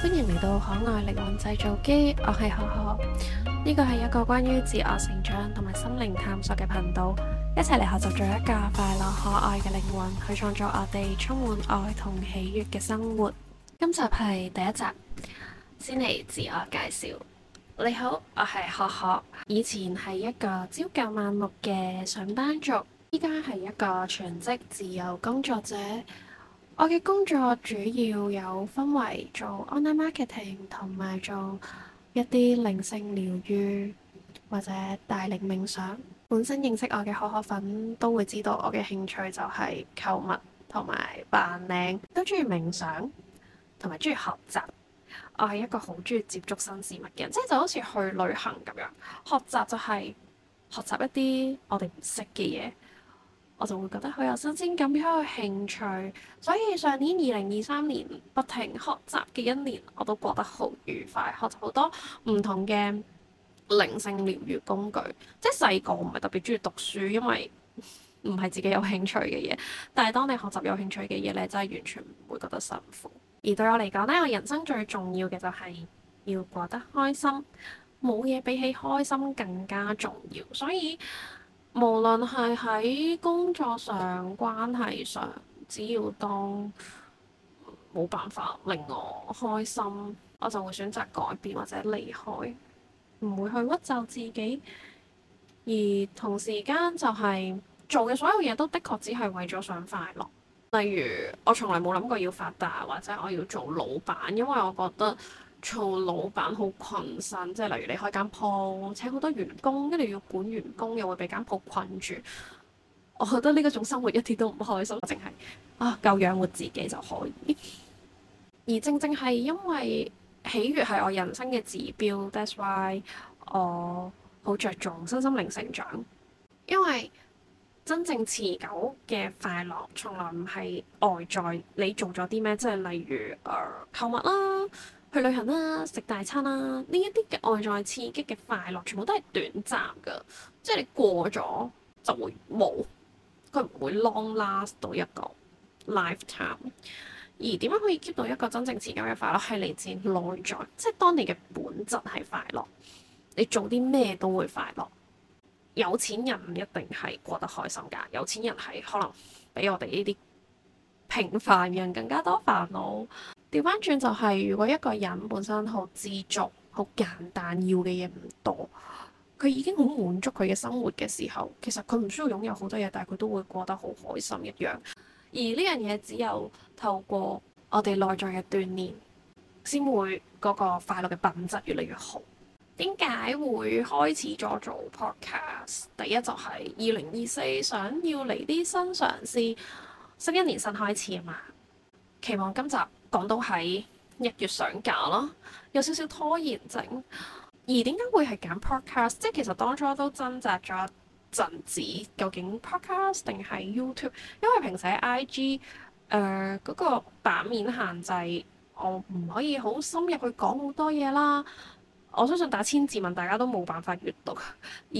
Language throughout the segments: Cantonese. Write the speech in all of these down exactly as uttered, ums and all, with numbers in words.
歡迎嚟到可愛靈魂製造機，我係可可。呢個係一個關於自我成長同埋心靈探索嘅頻道，一齊嚟學習做一個快樂可愛嘅靈魂，去創造我哋充滿愛同喜悅嘅生活。今集係第一集，先嚟自我介紹。你好，我係可可，以前係一個朝九晚六嘅上班族，依家係一個全職自由工作者。我嘅工作主要有分為做 online marketing 同埋做一啲靈性療癒或者帶領冥想。本身認識我嘅可可粉都會知道我嘅興趣就係購物同埋扮靚，都中意冥想同埋中意學習。我係一個好中意接觸新事物嘅人，即係就好似去旅行咁樣。學習就係學習一啲我哋唔識嘅嘢。我就會覺得好有新鮮感，好有興趣，所以上年二零二三年不停學習嘅一年，我都過得好愉快，學習好多唔同嘅靈性療癒工具。即係細個唔係特別中意讀書，因為唔係自己有興趣嘅嘢。但係當你學習有興趣嘅嘢咧，真係完全唔會覺得辛苦。而對我嚟講咧，我人生最重要嘅就係要過得開心，冇嘢比起開心更加重要。所以無論係喺工作上、關係上，只要當冇辦法令我開心，我就會選擇改變或者離開，唔會去屈就自己。而同時間就係做嘅所有嘢都的確只係為咗想快樂。例如我從來冇諗過要發達，或者我要做老闆，因為我覺得做老闆好困身，即係例如你開間鋪，請好多員工，跟住要管員工，又會俾間鋪困住。我覺得呢個種生活一啲都唔開心，淨係啊夠養活自己就可以。而正正係因為喜悅係我人生嘅指標，that's why 我好着重身心靈成長。因為真正持久嘅快樂，從來唔係外在你做咗啲咩，即係例如誒、呃、購物啦、去旅行啦、食大餐啦，呢一啲嘅外在刺激嘅快樂，全部都係短暫㗎，即係你過咗就會冇，佢唔會 long last 到一個 lifetime。而點樣可以 keep 到一個真正持久嘅快樂，係嚟自內在，即係當你嘅本質係快樂，你做啲咩都會快樂。有錢人唔一定係過得開心㗎，有錢人係可能比我哋呢啲平凡人更加多煩惱。調翻轉就係，如果一個人本身好知足、好簡單，要嘅嘢唔多，佢已經好滿足佢嘅生活嘅時候，其實佢唔需要擁有好多嘢，但係佢都會過得好開心一樣。而呢樣嘢只有透過我哋內在嘅鍛鍊，先會嗰個快樂嘅品質越嚟越好。點解會開始咗做 podcast？第一就係二零二四想要嚟啲新嘗試，新一年新開始啊嘛。期望今集講到喺一月上架啦，有少少拖延症。而點解會係揀 podcast？即係其實當初都掙扎咗一陣子，究竟 podcast 定係 YouTube？因為平時喺 I G 誒、呃、嗰、嗰個版面限制，我唔可以好深入去講好多嘢啦。我相信打千字文大家都冇辦法閱讀，而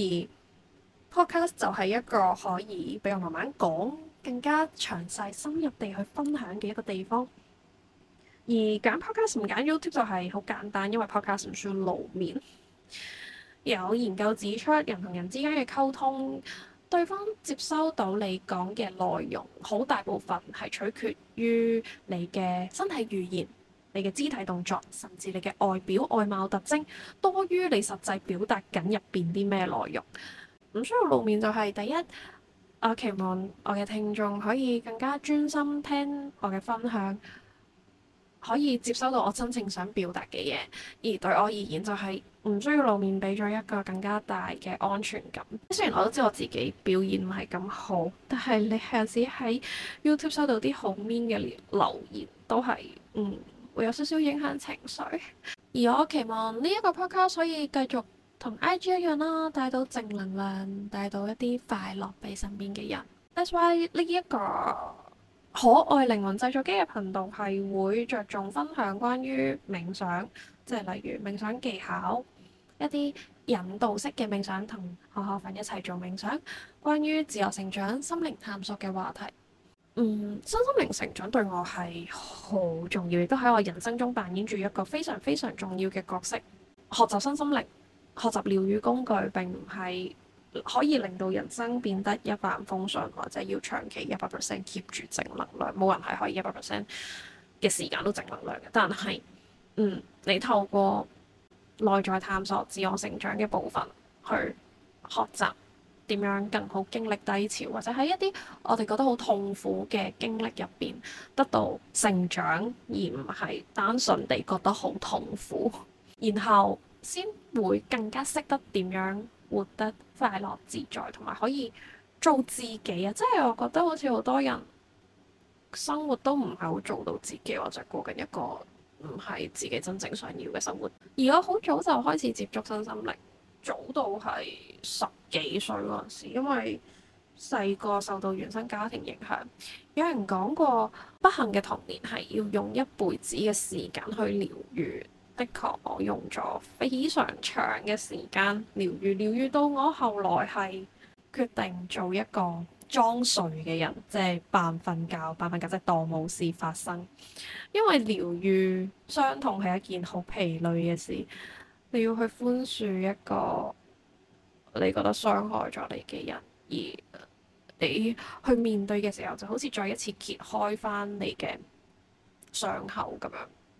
podcast 就係一個可以俾我慢慢講、更加詳細、深入地去分享嘅一個地方。而揀 podcast 唔揀 YouTube 就係好簡單，因為 podcast 唔需要露面。有研究指出，人同人之間嘅溝通，對方接收到你講嘅內容，好大部分係取決於你嘅身體語言、你嘅肢體動作，甚至你嘅外表外貌特徵，多於你實際表達緊入邊啲咩內容。唔需要露面就係第一，我期望我嘅聽眾可以更加專心聽我嘅分享，可以接收到我真正想表達嘅嘢。而對我而言就係唔需要露面，俾咗一個更加大嘅安全感。雖然我都知我自己表現唔係咁好，但係你有時喺 YouTube 收到啲好 mean 嘅留言，都係嗯。會有少少影響情緒，而我期望呢一個 podcast 可以繼續同 I G 一樣啦，帶到正能量，帶到一啲快樂俾身邊嘅人。That's why 呢一個可愛靈魂製造機嘅頻道係會着重分享關於冥想，即係例如冥想技巧，一啲引導式嘅冥想，同可可粉一齊做冥想，關於自我成長、心靈探索嘅話題。 嗯，身心靈成長對我係好重要，亦都喺我人生中扮演住一個非常非常重要嘅角色。學習身心靈、學習療癒工具，並唔係可以令到人生變得一帆風順，或者要長期一百 percent keep 住正能量。冇人係可以一百 percent 嘅時間都正能量嘅。但係，嗯，你透過內在探索、自我成長嘅部分去學習。點樣更好經歷低潮，或者喺一啲我哋覺得好痛苦嘅經歷入邊得到成長，而唔係單純地覺得好痛苦，然後先會更加識得點樣活得快樂自在，同埋可以做自己啊！即係我覺得好似好多人生活都唔係好做到自己，或者過緊一個唔係自己真正想要嘅生活。而我好早就開始接觸身心靈。早到係十幾歲嗰陣時，因為細個受到原生家庭影響，有人講過不幸嘅童年係要用一輩子嘅時間去療愈。的確，我用咗非常長嘅時間療愈，療愈到我後來係決定做一個裝睡嘅人，即係扮瞓覺，扮瞓覺即係當冇事發生。因為療愈傷痛係一件好疲累嘅事。你要去寬恕一個你覺得傷害咗你嘅人，而你去面對嘅時候，就好似再一次揭開翻你嘅傷口咁樣。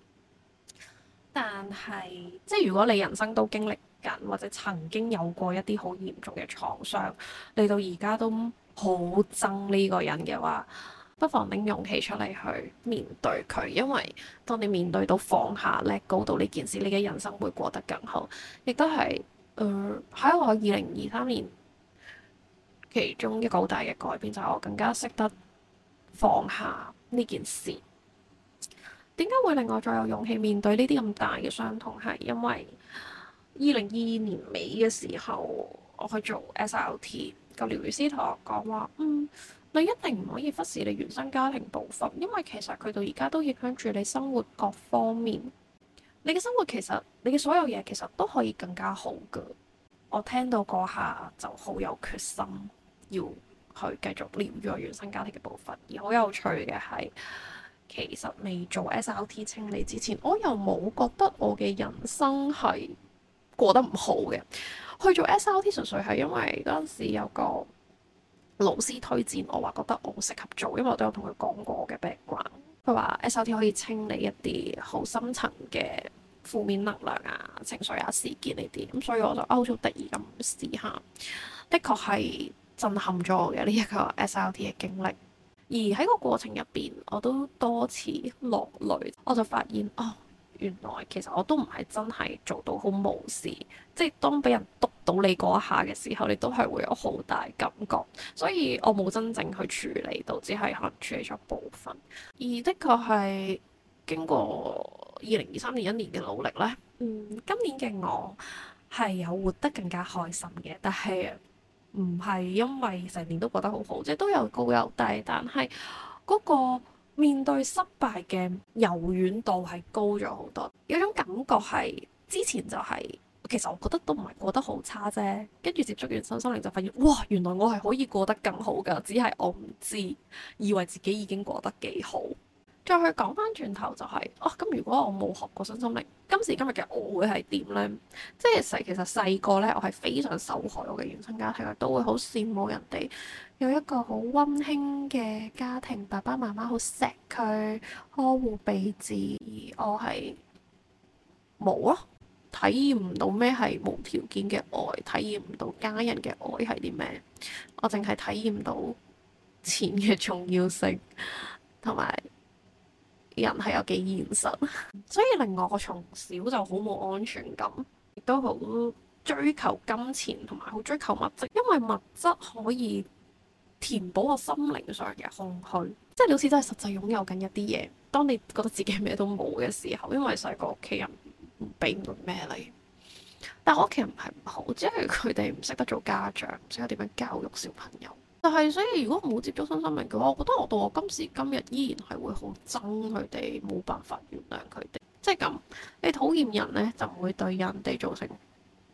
但係，即係如果你人生都經歷緊，或者曾經有過一啲好嚴重嘅創傷，你到而家都好憎呢個人嘅話，不妨拎勇氣出嚟去面對佢，因為當你面對到放下 let go 到呢件事，你嘅人生會過得更好。亦都係誒喺我二零二三年其中一個好大嘅改變，就係我更加識得放下呢件事。點解會令我再有勇氣面對呢啲咁大嘅傷痛？係因為二零二二年尾嘅時候，我去做 S R T， 個療癒師同我講話，嗯。你一定唔可以忽視你原生家庭部分，因為其實佢到而家都影響住你生活各方面。你嘅生活其實，你嘅所有嘢其實都可以更加好㗎。我聽到嗰下就好有決心，要去繼續療癒我原生家庭嘅部分。而好有趣嘅係，其實未做 S R T 清理之前，我又冇覺得我嘅人生係過得唔好嘅。去做 S R T 純粹係因為嗰陣時有個老師推薦我，話覺得我適合做，因為我都有同佢講過我嘅 background。佢話 S R T 可以清理一啲好深層嘅負面能量啊、情緒啊、事件呢啲，咁所以我就好似得意咁試下。的確係震撼咗我嘅呢一個 S R T 嘅經歷，而喺個過程入邊，我都多次落淚，我就發現哦。原來其實我都唔係真係做到好無視，即係當俾人督到你嗰一下嘅時候，你都係會有好大感覺，所以我冇真正去處理到，只係可能處理咗部分。而的確係經過二零二三年一年嘅努力咧，嗯，今年嘅我係有活得更加開心嘅，但係唔係因為成年都覺得好好，即係都有高有低，但係嗰個面對失敗嘅柔軟度係高咗好多，有種感覺係之前就係、是、其實我覺得都唔係過得好差啫，跟住接觸完身心靈就發現，哇，原來我係可以過得更好㗎，只係我唔知，以為自己已經過得幾好。再去講翻轉頭就係、是，哦，咁如果我冇學過身心靈，今時今日嘅我會係點呢？即係細其實細個呢，我係非常受害我嘅原生家庭，都會好羨慕人哋有一個好溫馨嘅家庭，爸爸媽媽好錫佢，呵護備至，而我係冇咯，體驗唔到咩係無條件嘅愛，體驗唔到家人嘅愛係啲咩，我淨係體驗到錢嘅重要性，同埋人係有幾現實，所以令我從小就好冇安全感，亦都好追求金錢，同埋好追求物質，因為物質可以填補我心靈上嘅空虛，即係你好似真係實際擁有緊一啲嘢。當你覺得自己咩都冇嘅時候，因為細個屋企人唔俾唔到咩你，但係我屋企人唔係唔好，只係佢哋唔識得做家長，唔識得點樣教育小朋友。但係，所以如果冇接觸身心靈嘅話，我覺得我到我今時今日依然係會好憎佢哋，冇辦法原諒佢哋。即係咁，你討厭人呢，就唔會對人哋造成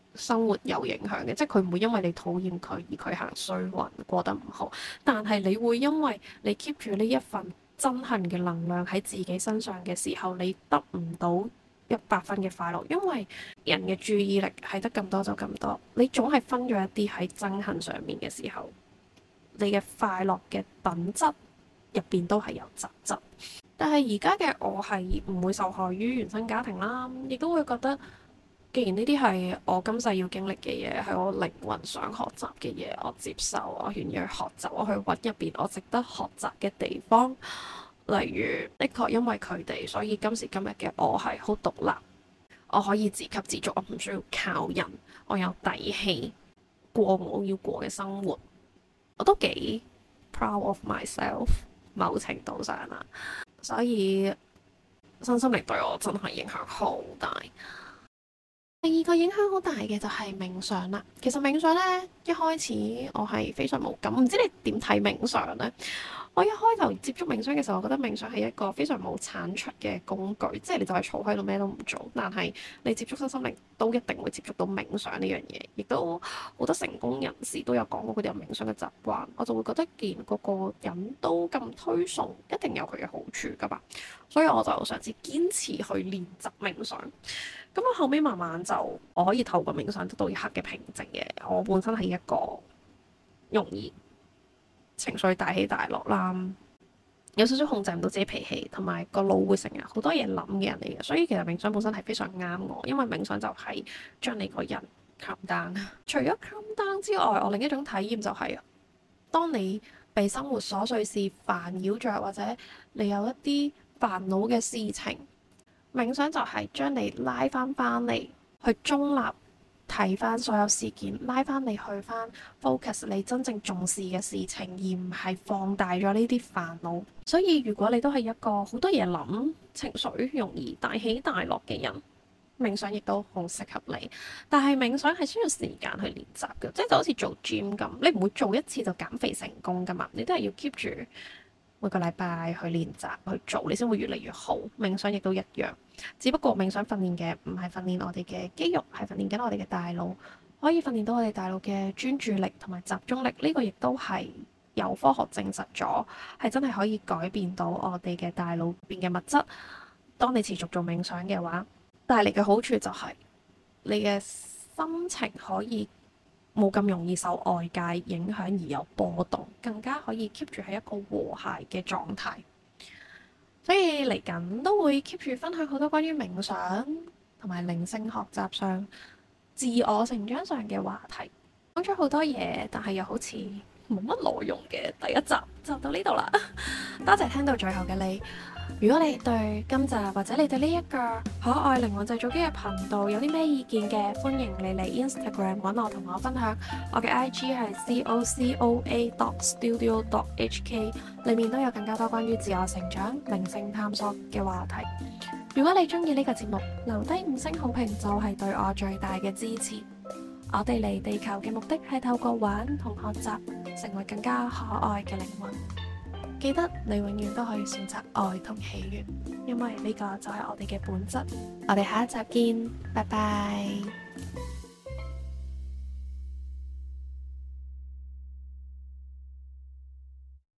生活有影響嘅，即係佢唔會因為你討厭佢而佢行衰運過得唔好，但係你會因為你 keep 住呢一份憎恨嘅能量喺自己身上嘅時候，你得唔到一百分嘅快樂，因為人嘅注意力係得咁多就咁多，你總係分咗一啲喺憎恨上面嘅時候，你嘅快樂嘅品質入邊都係有雜質。但係而家嘅我係唔會受害於原生家庭啦，亦都會覺得，既然呢啲係我今世要經歷嘅嘢，係我靈魂想學習嘅嘢，我接受，我願意去學習，我去揾入邊我值得學習嘅地方。例如，的確因為佢哋，所以今時今日嘅我係好獨立，我可以自給自足，我唔需要靠人，我有底氣過我要過嘅生活，我都幾 proud of myself， 某程度上啦。所以身心靈對我真係影響好大。第二個影響好大嘅就係冥想啦。其實冥想呢，一開始我係非常冇感，唔知你點睇冥想呢？我一開頭接觸冥想嘅時候，我覺得冥想係一個非常冇產出嘅工具，即係你就係坐喺度咩都唔做。但係你接觸身心靈都一定會接觸到冥想呢樣嘢，亦都好多成功人士都有講過佢哋有冥想嘅習慣。我就會覺得，既然個個人都咁推崇，一定有佢嘅好處噶嘛。所以我就嘗試堅持去練習冥想。咁我後尾慢慢就我可以透過冥想得到一刻嘅平靜嘅。我本身係一個容易情緒大起大落啦，有少少控制唔到自己脾氣，同埋個腦會成日好多嘢諗嘅人嚟嘅。所以其實冥想本身係非常啱我，因為冥想就係將你個人 calm down。除咗 calm down 之外，我另一種體驗就係，當你被生活瑣碎事煩擾着，或者你有一啲煩惱嘅事情，冥想就係將你拉翻翻嚟，去中立睇翻所有事件，拉翻你去翻 focus 你真正重視嘅事情，而唔係放大咗呢啲煩惱。所以如果你都係一個好多嘢諗、情緒容易大起大落嘅人，冥想亦都好適合你。但係冥想係需要時間去練習嘅，即係就好似做 gym 咁，你唔會做一次就減肥成功噶嘛，你都係要 keep 住每個禮拜去練習去做，你先會越嚟越好。冥想亦都一樣，只不過冥想訓練嘅唔係訓練我哋嘅肌肉，係訓練緊我哋嘅大腦，可以訓練到我哋大腦嘅專注力同埋集中力。呢個亦都係有科學證實咗，係真係可以改變到我哋嘅大腦入邊嘅物質。當你持續做冥想嘅話，帶嚟嘅好處就係你嘅心情可以冇咁容易受外界影響而有波動，更加可以 keep 住喺一個和諧嘅狀態。所以嚟緊都會 keep 住分享好多關於冥想同埋靈性學習上、自我成長上嘅話題。講咗好多嘢，但係又好似冇乜內容嘅第一集就到呢度啦。多謝聽到最後嘅你。如果你對今集或者你對呢一個可愛靈魂製造機嘅頻道有啲咩意見嘅，歡迎你嚟 Instagram 揾我同我分享。我嘅 I G 係 C O C O A dot studio dot H K， 裡面都有更加多關於自我成長、靈性探索嘅話題。如果你中意呢個節目，留低五星好評就係對我最大嘅支持。我哋嚟地球嘅目的係透過玩同學習，成為更加可愛嘅靈魂。記得你永遠都可以選擇愛同喜悅，因為呢個就係我哋嘅本質。我哋下一集見，拜拜。